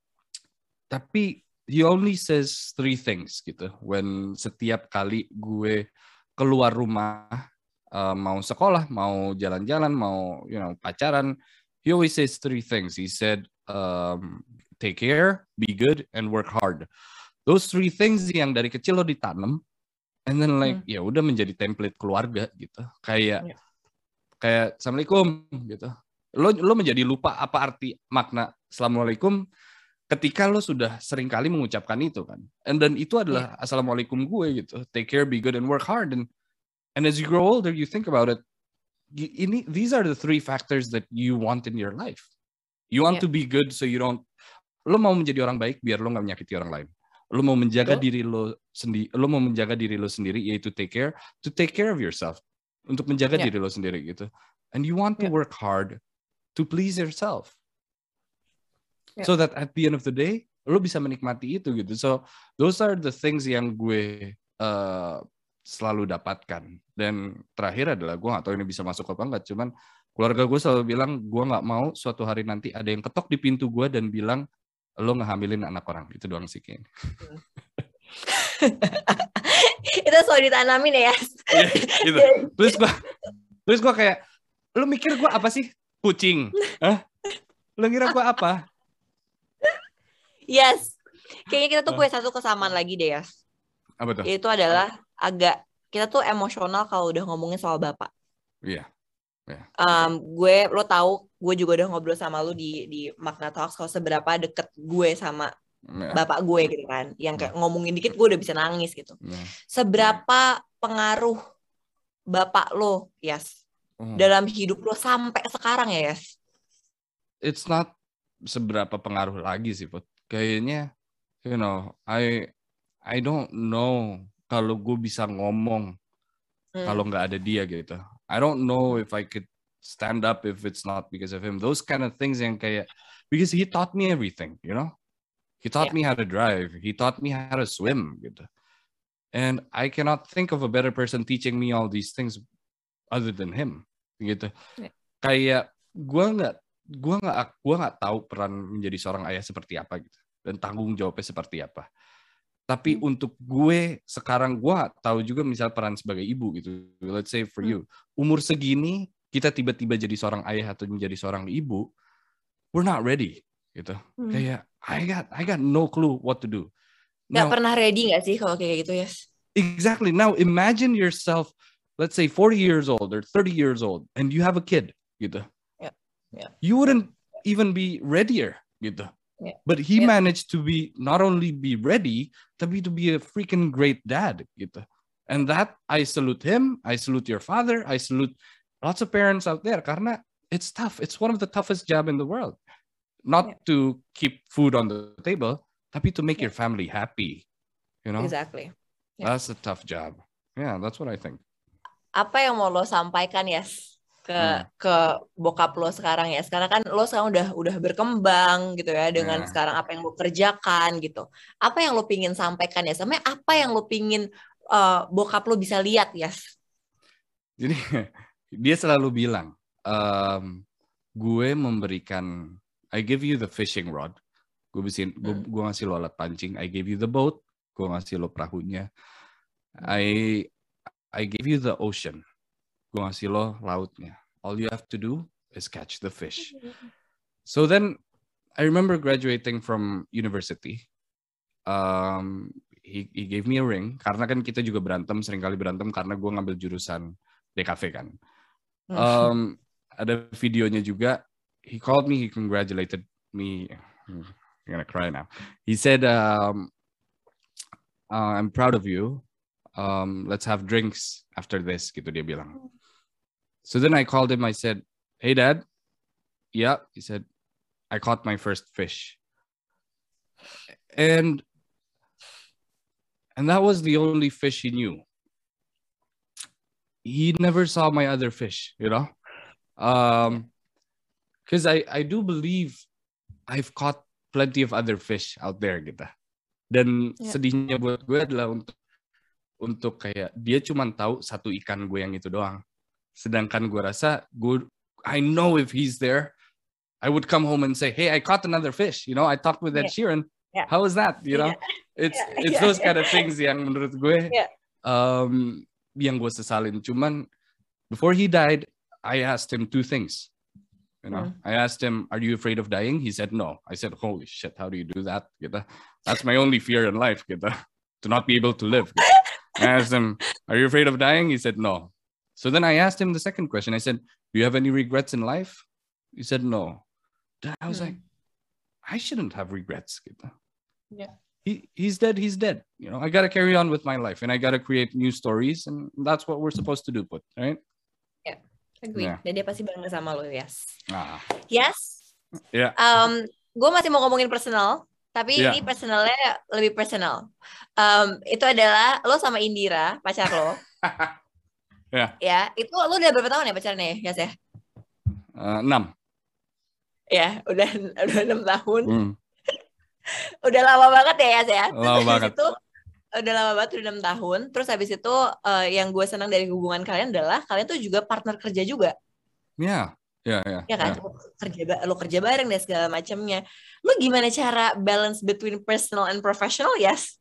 Tapi he only says three things gitu. When setiap kali gue keluar rumah, uh, mau sekolah, mau jalan-jalan, mau you know pacaran, he always says three things. He said, um, take care, be good, and work hard. Those three things yang dari kecil lo ditanam, and then like hmm. ya udah menjadi template keluarga gitu. Kayak yeah. kayak assalamualaikum gitu. Lo lo menjadi lupa apa arti makna assalamualaikum ketika lo sudah sering kali mengucapkan itu kan. And then itu adalah yeah. assalamualaikum gue gitu. Take care, be good, and work hard. And and as you grow older, you think about it. Ini these are the three factors that you want in your life. You want yeah. to be good so you don't. Lo mau menjadi orang baik biar lo nggak menyakiti orang lain. Lo mau menjaga Betul. diri lo sendiri. Lo mau menjaga diri lo sendiri, yaitu take care, to take care of yourself, untuk menjaga yeah. diri lo sendiri gitu. And you want to yeah. work hard to please yourself, yeah. so that at the end of the day lo bisa menikmati itu gitu. So those are the things yang gue uh, selalu dapatkan. Dan terakhir adalah gue nggak tahu ini bisa masuk apa enggak, cuman keluarga gue selalu bilang gue nggak mau suatu hari nanti ada yang ketok di pintu gue dan bilang lo ngehamilin anak orang. Itu doang sih kayaknya. Itu selalu ditanamin ya. Ya gitu. Terus gue, terus gue kayak, lo mikir gue apa sih? Kucing? Hah? Lo kira gue apa? Yes. Kayaknya kita tuh punya satu kesamaan lagi deh, Yas. Apa tuh? Itu adalah agak, kita tuh emosional kalau udah ngomongin soal bapak. Iya. Yeah. Um, gue, lo tahu, gue juga udah ngobrol sama lo di di Magna Talks kalau seberapa deket gue sama yeah. bapak gue gitu kan, yang kayak ngomongin dikit gue udah bisa nangis gitu. Yeah. Seberapa pengaruh bapak lo, Yas, oh. dalam hidup lo sampai sekarang ya, Yas? It's not seberapa pengaruh lagi sih, Put. Kayaknya, you know, I I don't know kalau gue bisa ngomong hmm. kalau nggak ada dia gitu. I don't know if I could stand up if it's not because of him. Those kind of things yang kayak, because he taught me everything, you know? He taught yeah. me how to drive. He taught me how to swim gitu. And I cannot think of a better person teaching me all these things other than him gitu. Yeah. Kayak gue nggak gue nggak gue nggak tahu peran menjadi seorang ayah seperti apa gitu, dan tanggung jawabnya seperti apa. Tapi hmm. untuk gue sekarang gue gak tahu juga misal peran sebagai ibu gitu. Let's say for you, umur segini kita tiba-tiba jadi seorang ayah atau menjadi seorang ibu, we're not ready gitu. Hmm. Kayak I got I got no clue what to do. Gak now, pernah ready gak sih kalau kayak gitu, Yes? Exactly. Now imagine yourself, let's say forty years old or thirty years old, and you have a kid gitu. Yeah. Yeah. You wouldn't even be readier gitu. Yeah. But he yeah. managed to be not only be ready, tapi to be a freaking great dad gitu. And that I salute him, I salute your father, I salute lots of parents out there karena it's tough. It's one of the toughest job in the world. Not yeah. to keep food on the table, tapi to make yeah. your family happy. You know, Exactly. Yeah. That's a tough job. Yeah, that's what I think. Apa yang mau lo sampaikan Yes ke Hmm. ke bokap lo sekarang ya? Sekarang kan lo sekarang udah udah berkembang gitu ya dengan Yeah. sekarang apa yang lo kerjakan gitu. Apa yang lo pingin sampaikan ya? Sama apa yang lo pingin uh, bokap lo bisa lihat Yes? Jadi dia selalu bilang, um, gue memberikan, I give you the fishing rod, gue bisin, gue, Hmm. gue ngasih lo alat pancing. I give you the boat, gue ngasih lo perahunya. I I give you the ocean, gue ngasih lo lautnya. All you have to do is catch the fish. So then I remember graduating from university. Um, he, he gave me a ring karena kan kita juga berantem, seringkali berantem karena gue ngambil jurusan D K V kan. Um, ada videonya juga. He called me, he congratulated me. I'm gonna cry now. He said, um, uh, "I'm proud of you. Um, let's have drinks after this." Gitu dia bilang. So then I called him. I said, "Hey, Dad." Yeah, he said, "I caught my first fish," and and that was the only fish he knew. He never saw my other fish, you know, um, because I I do believe I've caught plenty of other fish out there, gitu. Dan Yeah. sedihnya buat gue adalah untuk untuk kayak dia cuma tahu satu ikan gue yang itu doang. Sedangkan gue rasa gue I know if he's there, I would come home and say, "Hey, I caught another fish." You know, I talked with Ed Yeah. Sheeran. Yeah. How was that? You know, Yeah. it's Yeah. it's Yeah. those kind of things yang menurut gue Yeah. um, yang gue sesalin. Cuman before he died, I asked him two things. You know, Hmm. I asked him, "Are you afraid of dying?" He said, "No." I said, "Holy shit, how do you do that?" Gitu. That's my only fear in life, gitu. To not be able to live. Gitu. I asked him, "Are you afraid of dying?" He said, "No." So then I asked him the second question. I said, "Do you have any regrets in life?" He said, "No." Then I was Hmm. like, I shouldn't have regrets. Gitu. Yeah. He he's dead. He's dead. You know, I gotta carry on with my life, and I gotta create new stories, and that's what we're supposed to do, Put, right? Yeah. Agree. Yeah. Dan dia pasti bangga sama lo Yes. Ah, Yes. yeah. Um, gue masih mau ngomongin personal, tapi Yeah. ini personalnya lebih personal. Um, itu adalah lo sama Indira, pacar lo. Yeah. Ya, itu lo udah berapa tahun ya pacarnya ya, Yes ya? Uh, enam. Ya, udah udah enam tahun. Hmm. Udah lama banget ya, Yes ya. Lama Terus banget. itu udah lama banget, udah enam tahun. Terus habis itu uh, yang gue senang dari hubungan kalian adalah kalian tuh juga partner kerja juga. Yeah. Yeah, yeah. Ya kan, Yeah. lo kerja lo kerja bareng dan segala macamnya. Lo gimana cara balance between personal and professional? Yes.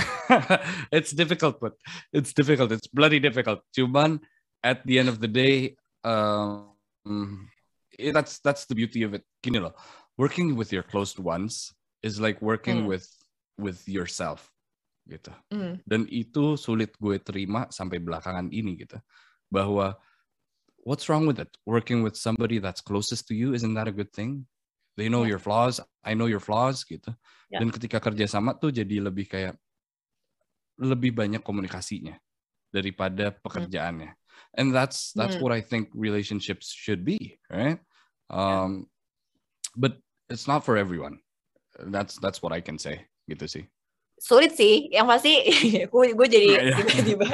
It's difficult, but it's difficult. It's bloody difficult. Cuman at the end of the day, um, eh, that's that's the beauty of it. Gini loh, working with your close ones is like working Hmm. with with yourself, gitu. Hmm. Dan itu sulit gue terima sampai belakangan ini, gitu. Bahwa what's wrong with it? Working with somebody that's closest to you, isn't that a good thing? They know Yeah. your flaws, I know your flaws, gitu. Yeah. Dan ketika kerja sama tuh jadi lebih kayak lebih banyak komunikasinya daripada pekerjaannya. And that's that's Hmm. what I think relationships should be, right? Um, but it's not for everyone. That's that's what I can say, gitu sih. Sulit sih, yang pasti gue gue jadi Yeah. tiba-tiba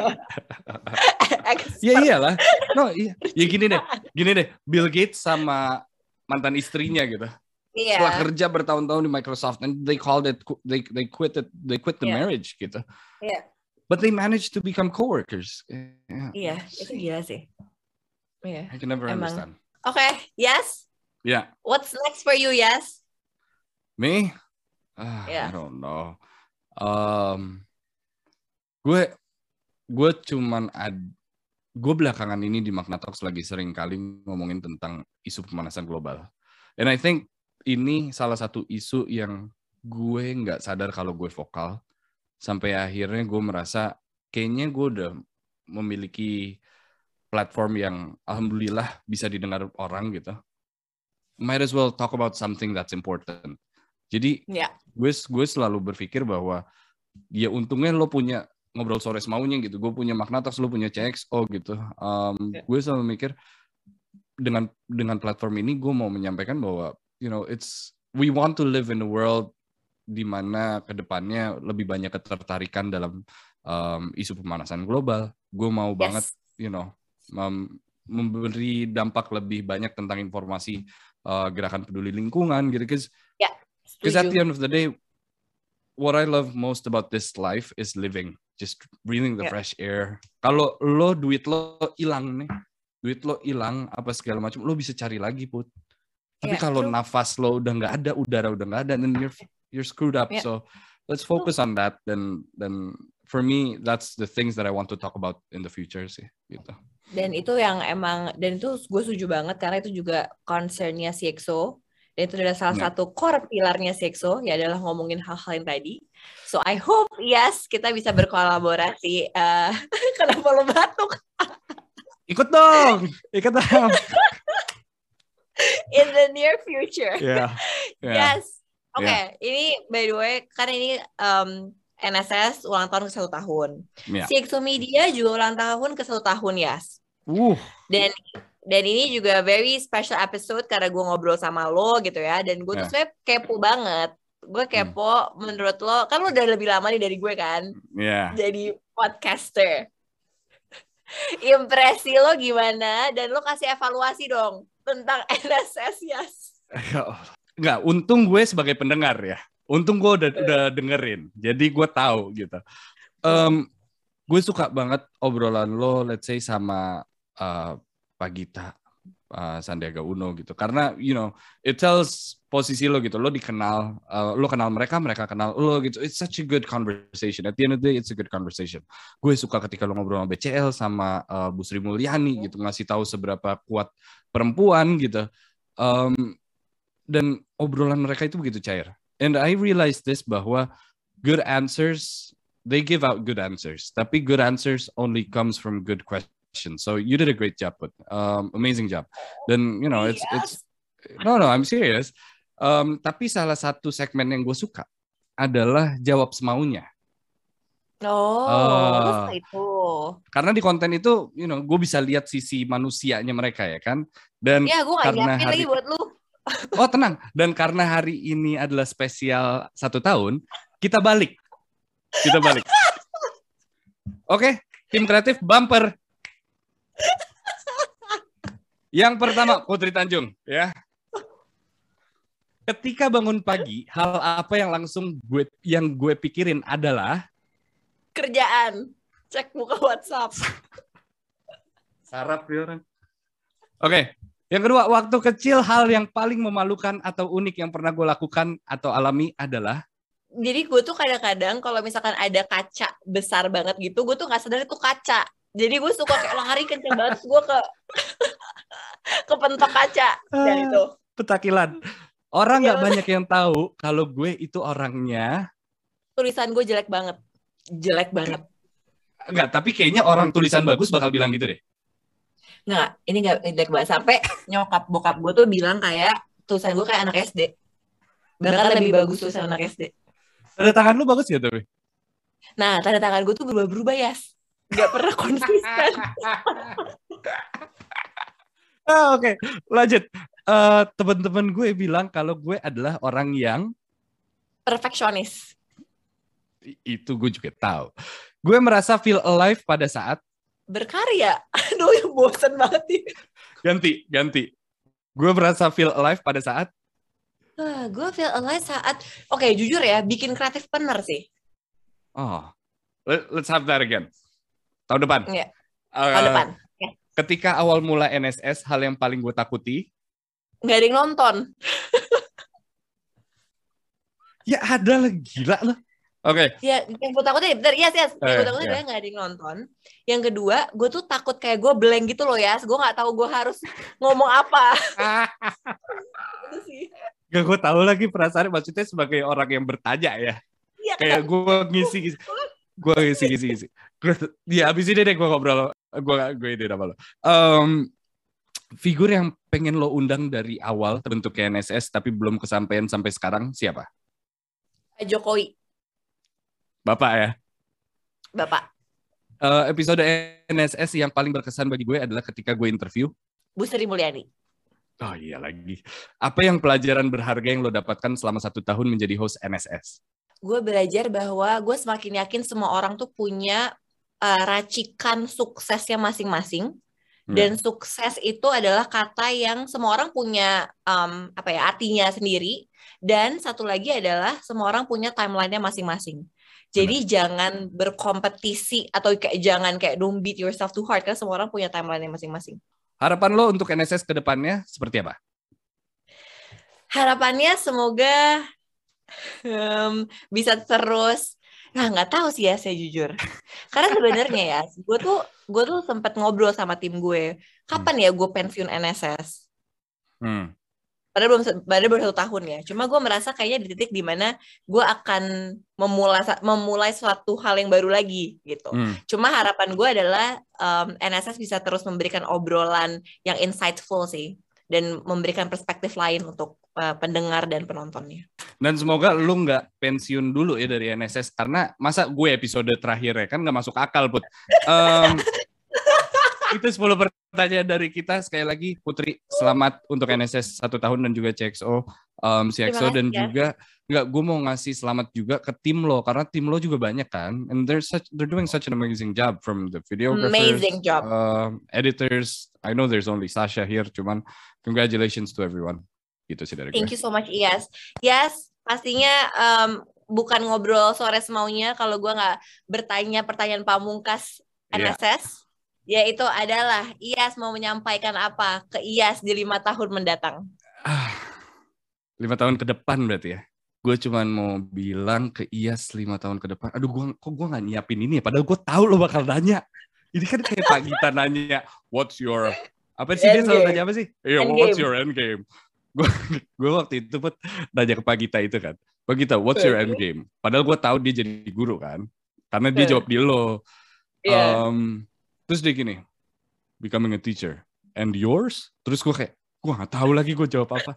expert. Ya iyalah. No, iya. Ya gini deh. Gini deh. Bill Gates sama mantan istrinya gitu. Iya. Setelah kerja bertahun-tahun di Microsoft, and they called it, they they quit it, they quit the Yeah. marriage gitu. Iya. But they managed to become coworkers. Yeah. Iya, itu gila sih. Iya. I can never Emang. understand. Oke, okay. Yes. Yeah. What's next for you, Yes? Me? Ah, Yeah. I don't know. Um, gue gue cuman ad, gue belakangan ini di Magna Talks lagi sering kali ngomongin tentang isu pemanasan global. And I think ini salah satu isu yang gue nggak sadar kalau gue vokal. Sampai akhirnya gue merasa kayaknya gue udah memiliki platform yang alhamdulillah bisa didengar orang gitu. Might as well talk about something that's important. Jadi yeah. gue gue selalu berpikir bahwa ya untungnya lo punya ngobrol sore semaunya gitu. Gue punya Magna Talks, lo punya C X O gitu. Um, yeah. Gue selalu mikir dengan dengan platform ini gue mau menyampaikan bahwa you know it's we want to live in a world di mana kedepannya lebih banyak ketertarikan dalam um, isu pemanasan global. Gue mau yes. banget, you know, mem- memberi dampak lebih banyak tentang informasi uh, gerakan peduli lingkungan gitu. Because yeah, at the end of the day, what I love most about this life is living, just breathing the yeah. fresh air. Kalau lo duit lo hilang nih, duit lo hilang apa segala macam, lo bisa cari lagi Put. Tapi yeah, kalau true. nafas lo udah nggak ada, udara udah nggak ada, then you're you're screwed up. Yeah. So let's focus on that. Dan dan for me that's the things that I want to talk about in the future sih, gitu. Dan itu yang emang, dan itu gue setuju banget karena itu juga concernnya C X O. Dan itu adalah salah yeah. satu core pilarnya C X O, ya adalah ngomongin hal-hal yang tadi. So I hope yes kita bisa berkolaborasi. Uh, kenapa lo batuk? Ikut dong, ikut dong. In the near future. Yeah. Yeah. Yes. Oke, okay. yeah. Ini by the way, karena ini um, N S S ulang tahun ke satu tahun. Yeah. C X O Media juga ulang tahun ke satu tahun, Yas. Uh. Dan dan ini juga very special episode karena gue ngobrol sama lo gitu ya. Dan gue yeah. tuh sebenarnya kepo banget. Gue kepo hmm. menurut lo, kan lo udah lebih lama nih dari gue kan. Yeah. Jadi podcaster. Impresi lo gimana? Dan lo kasih evaluasi dong tentang N S S, Yas. Enggak, untung gue sebagai pendengar ya. Untung gue udah udah dengerin. Jadi gue tahu gitu. Um, gue suka banget obrolan lo, let's say sama uh, Pak Gita, uh, Sandiaga Uno gitu. Karena you know, it tells posisi lo gitu. Lo dikenal, uh, lo kenal mereka, mereka kenal lo gitu. It's such a good conversation. At the end of the day, it's a good conversation. Gue suka ketika lo ngobrol sama B C L sama uh, Bu Sri Mulyani gitu, ngasih tahu seberapa kuat perempuan gitu. Um, dan obrolan mereka itu begitu cair. And I realized this bahwa good answers, they give out good answers. Tapi good answers only comes from good questions. So you did a great job, but um, amazing job. Dan you know, it's yes. it's no no, I'm serious. Um, tapi salah satu segmen yang gue suka adalah jawab semaunya. Oh, uh, itu. Karena di konten itu, you know, gue bisa lihat sisi manusianya mereka ya kan. Dan ya, gue gak nyiapin hari... lagi buat lu. Oh tenang, dan karena hari ini adalah spesial satu tahun, kita balik, kita balik. Oke, tim kreatif bumper. Yang pertama Putri Tanjung, ya. Ketika bangun pagi, hal apa yang langsung gue yang gue pikirin adalah kerjaan. Cek buka WhatsApp. Sarap ya orang. Oke. Yang kedua, waktu kecil hal yang paling memalukan atau unik yang pernah gue lakukan atau alami adalah? Jadi gue tuh kadang-kadang kalau misalkan ada kaca besar banget gitu, gue tuh gak sadar itu kaca. Jadi gue suka kayak lari kenceng banget, gue ke ke pentok kaca. Dan itu. Petakilan. Orang gak banyak yang tahu kalau gue itu orangnya. Tulisan gue jelek banget. Jelek banget. Enggak, tapi kayaknya orang tulisan bagus bakal bilang gitu deh. Nggak, ini nggak jelek banget. Sampai nyokap bokap gue tuh bilang kayak tulisan gue kayak anak S D. Bahkan lebih bagus tulisan anak S D. Tanda tangan lu bagus ya tapi? Nah, tanda tangan gue tuh berubah-berubah ya. Nggak pernah konsisten. ah, Oke, okay. Lanjut. Uh, teman-teman gue bilang kalau gue adalah orang yang perfeksionis. Itu gue juga tahu. Gue merasa feel alive pada saat berkarya. Aduh, yang bosan banget nih. Ganti, ganti. Gue merasa feel alive pada saat uh, gue feel alive saat oke, okay, jujur ya, bikin kreatif bener sih. Oh. Let's have that again. Tahun depan. Iya. Uh, Tahun depan. Okay. Ketika awal mula N S S, hal yang paling gue takuti nggak ada yang nonton. Ya ada lah, gila lah. Oke. Okay. Ya, yang gue takutnya, bentar, yes, yes. Yang gue takutnya adalah nggak ada yang nonton. Yang kedua, gue tuh takut kayak gue blank gitu loh ya. Gue nggak tahu gue harus ngomong apa. Itu sih. Gak gue tahu lagi perasaan maksudnya sebagai orang yang bertanya ya. Ya kayak kan? Gue ngisi, gue ngisi, ngisi, ngisi. Ya abis ini deh gue ngobrol, gue gue ini apa lo. Um, figur yang pengen lo undang dari awal terbentuk N S S tapi belum kesampaian sampai sekarang siapa? Jokowi. Bapak ya? Bapak. Uh, episode N S S yang paling berkesan bagi gue adalah ketika gue interview Bu Sri Mulyani. Oh iya lagi. Apa yang pelajaran berharga yang lo dapatkan selama satu tahun menjadi host N S S? Gue belajar bahwa gue semakin yakin semua orang tuh punya uh, racikan suksesnya masing-masing. Dan Yeah. sukses itu adalah kata yang semua orang punya um, apa ya artinya sendiri. Dan satu lagi adalah semua orang punya timelinenya masing-masing. Jadi Benar. jangan berkompetisi atau kayak jangan kayak don't beat yourself too hard karena semua orang punya timelinenya masing-masing. Harapan lo untuk N S S ke depannya seperti apa? Harapannya semoga um, bisa terus. Nah, nggak tahu sih ya, saya jujur. Karena sebenarnya ya, gue tuh gue tuh sempat ngobrol sama tim gue. Kapan ya gue pensiun N S S? Hmm. Padahal belum, padahal baru satu tahun ya. Cuma gue merasa kayaknya di titik dimana gue akan memulai memulai suatu hal yang baru lagi gitu. Hmm. Cuma harapan gue adalah um, N S S bisa terus memberikan obrolan yang insightful sih. Dan memberikan perspektif lain untuk uh, pendengar dan penontonnya. Dan semoga lu nggak pensiun dulu ya dari N S S. Karena masa gue episode terakhir ya kan nggak masuk akal, Put. Um, itu sepuluh pertanyaan dari kita. Sekali lagi, Putri, selamat untuk N S S satu tahun dan juga C X O. Um, C X O dan ya. Juga, nggak, gue mau ngasih selamat juga ke tim lo. Karena tim lo juga banyak kan. And they're, such, they're doing such an amazing job. From the videographers, amazing job. Uh, editors. I know there's only Sasha here, cuman congratulations to everyone. Gitu sih dari Thank gue. you so much, Iyas. Yes, pastinya um, bukan ngobrol sore semaunya kalau gue nggak bertanya pertanyaan pamungkas N S S. Yeah. Yaitu adalah Iyas mau menyampaikan apa ke Iyas di lima tahun mendatang? Ah, lima tahun ke depan berarti ya. Gue cuman mau bilang ke Iyas lima tahun ke depan. Aduh, gua, kok gue nggak nyiapin ini ya? Padahal gue tahu lo bakal nanya. Ini kan kayak Pak Gita nanya, what's your... Apa sih dia selalu nanya apa sih? Iya, yeah, what's your end game? Gue gue waktu itu pun nanya ke Pak Gita itu kan. Pak Gita, what's your end game? Padahal gue tahu dia jadi guru kan. Karena dia jawab di lo. Yeah. Um, terus dia gini, becoming a teacher. And yours? Terus gue kayak, gue gak tahu lagi gue jawab apa.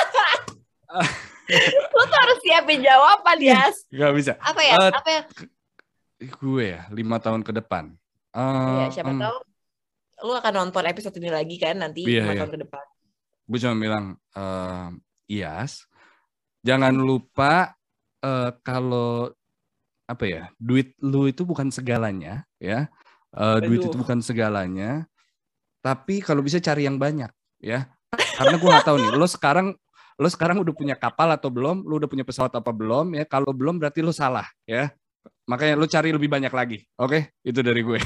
Lo tuh harus siapin jawaban, Yas. Gak bisa. Apa ya? Uh, apa ya? Gue ya, lima tahun ke depan. Uh, ya, siapa um, tahu lu akan nonton episode ini lagi kan nanti iya, lima iya. tahun ke depan. Gue cuma bilang, uh, Iyas, jangan lupa uh, kalau apa ya, duit lu itu bukan segalanya, ya. Uh, duit itu bukan segalanya. Tapi kalau bisa cari yang banyak, ya. Karena gue nggak tahu nih, lo sekarang lo sekarang udah punya kapal atau belum? Lo udah punya pesawat apa belum? Ya, kalau belum berarti lo salah, ya. Makanya lo cari lebih banyak lagi, oke? Okay? Itu dari gue.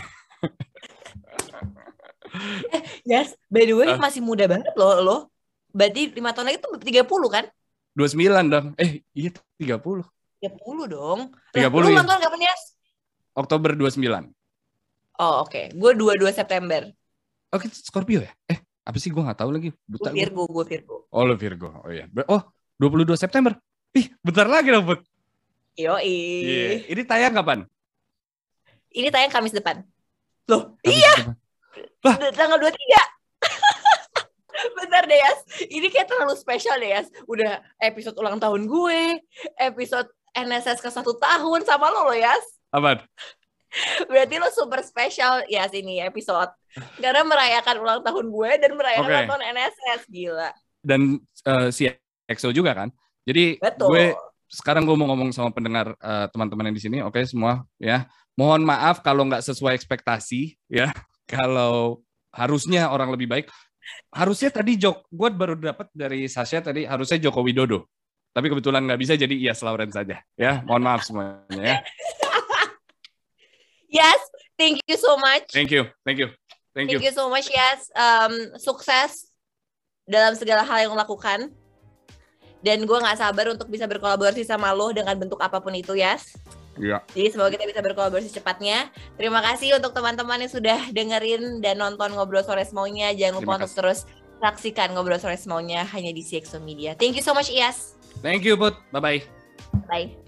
eh, Yes, by the way uh. masih muda banget lo, lo. Berarti lima tahun lagi tuh tiga puluh kan? dua puluh sembilan dong. Eh, iya tiga puluh. tiga puluh dong. tiga puluh. Lu ya. nonton kapan, Yas? Oktober dua puluh sembilan. Oh, oke. Okay. Gue dua puluh dua September. Oke, okay, Scorpio ya? Eh, apa sih gue nggak tahu lagi. Gue Virgo, gue Virgo. Oh, lo Virgo. Oh iya. Oh, dua puluh dua September. Ih, bentar lagi dong, Bud. Yoi. Yeah. Ini tayang kapan? Ini tayang Kamis depan. Loh, Kamis iya. Depan. Lah, tanggal dua puluh tiga. Bentar deh, Yas. Ini kayak terlalu spesial deh, Yas. Udah episode ulang tahun gue, episode N S S ke satu tahun sama lo, lo, Yas. Apaan? Berarti lo super spesial, Yas, ini episode. Karena merayakan ulang tahun gue dan merayakan okay. ulang tahun N S S. Gila. Dan uh, si X O juga kan? Jadi betul. Gue sekarang gue mau ngomong sama pendengar uh, teman-teman yang di sini. Oke, okay, semua ya. Mohon maaf kalau nggak sesuai ekspektasi ya. Kalau harusnya orang lebih baik. Harusnya tadi Jok, gue baru dapat dari Sasha tadi harusnya Joko Widodo. Tapi kebetulan nggak bisa jadi Iyas Lauren saja. Ya, mohon maaf semuanya ya. Yes, thank you so much. Thank you, thank you, thank you. Thank you so much, Yes. Um, sukses dalam segala hal yang lo lakukan. Dan gue nggak sabar untuk bisa berkolaborasi sama lo dengan bentuk apapun itu, Yes. Iya. Jadi semoga kita bisa berkolaborasi cepatnya. Terima kasih untuk teman-teman yang sudah dengerin dan nonton Ngobrol Sore Semaunya. Jangan lupa untuk terus saksikan Ngobrol Sore Semaunya hanya di C X O Media. Thank you so much, Iyas. Thank you, Put. Bye-bye. Bye.